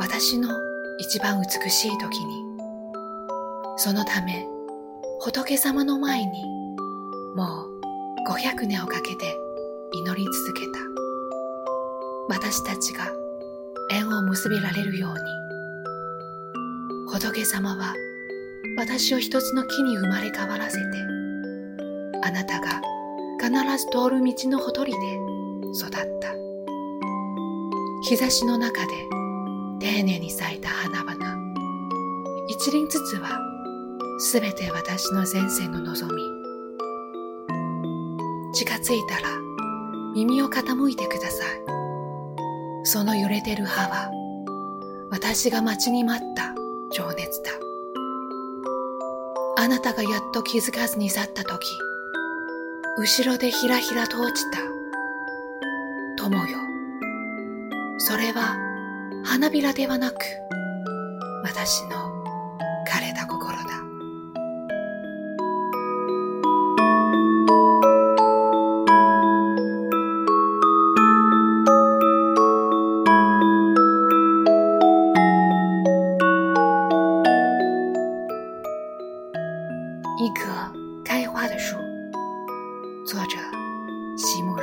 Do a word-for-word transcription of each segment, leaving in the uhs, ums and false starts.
私の一番美しい時に、そのため仏様の前にもうごひゃくねんをかけて祈り続けた。私たちが縁を結びられるように、仏様は私を一つの木に生まれ変わらせて、あなたが必ず通る道のほとりで育った。日差しの中で丁寧に咲いた花々、一輪ずつはすべて私の前世の望み。近づいたら耳を傾いてください。その揺れてる葉は私が待ちに待った情熱だ。あなたがやっと気づかずに去ったとき、後ろでひらひらと落ちた友よ。それは花びらではなく、私の枯れた心だ。一棵开花的树，作者席慕容。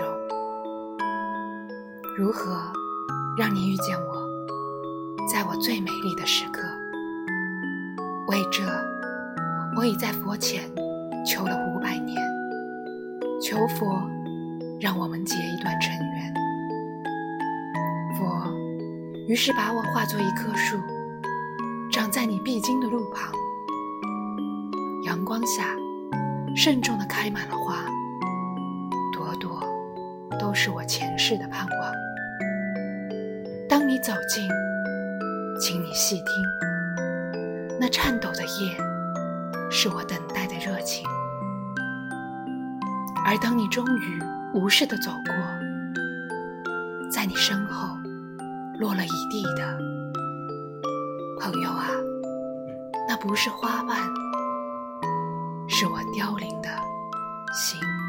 如何让你遇见我，在我最美丽的时刻？为这，我已在佛前求了五百年，求佛让我们结一段尘缘。佛于是把我化作一棵树，长在你必经的路旁。阳光下慎重地开满了花，朵朵都是我前世的盼望。当你走近，请你细听，那颤抖的叶是我等待的热情。而当你终于无视地走过，在你身后落了一地的，朋友啊，那不是花瓣，是我凋零的心。